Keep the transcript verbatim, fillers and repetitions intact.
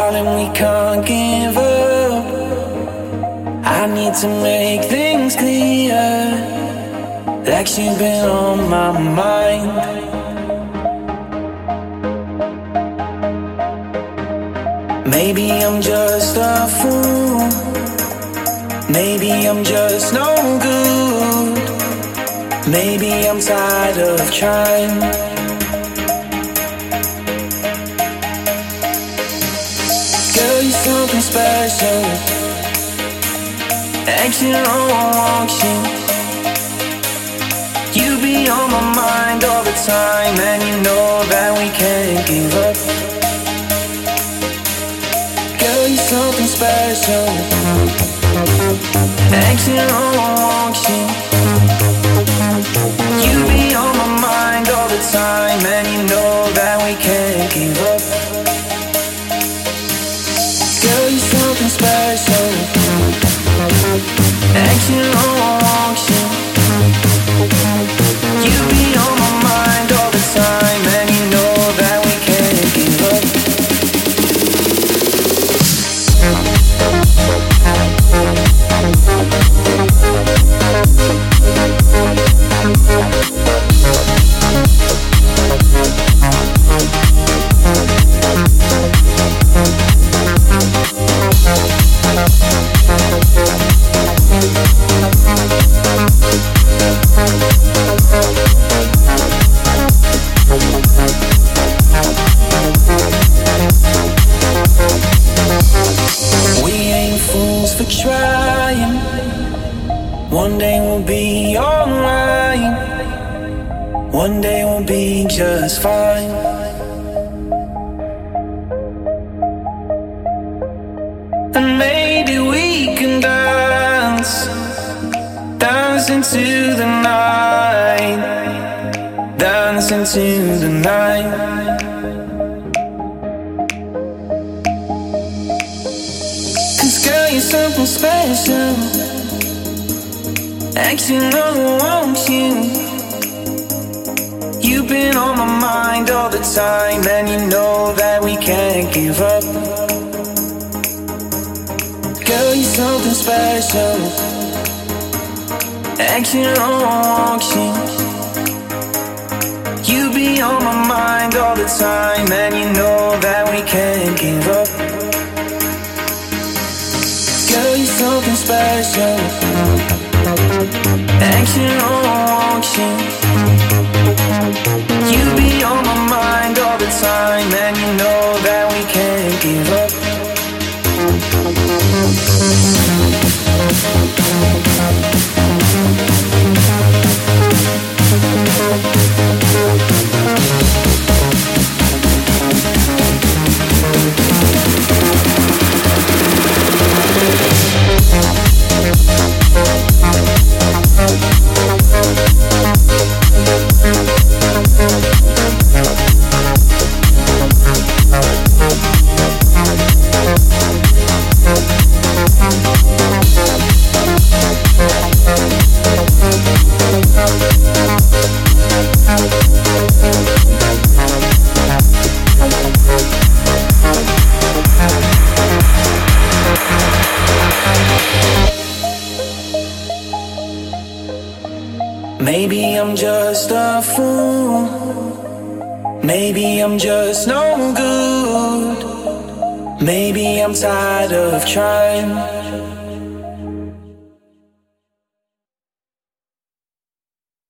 darling, we can't give up. I need to make things clear, like you've been on my mind. Maybe I'm just a fool, maybe I'm just no good, maybe I'm tired of trying. Girl, you're something special, acting on auction. You be on my mind all the time, and you know that we can't give up. Girl, you're something special, acting on auction. You be on my mind all the time, and you know that we can't give up. Girl, you're something special, acting on auction. You be on my mind all the time, and you know that we can't give up. One day we'll be alright, one day we'll be just fine. And maybe we can dance, dance into the night, dance into the night. Cause girl, you're something special, acting on want you. You've been on my mind all the time, and you know that we can't give up. Girl, you're something special, acting on want you. You be on my mind all the time, and you know that we can't give up. Girl, you're something special, action on auction. You be on my mind all the time, and you know that we can't give up. Maybe I'm just a fool, maybe I'm just no good, maybe I'm tired of trying.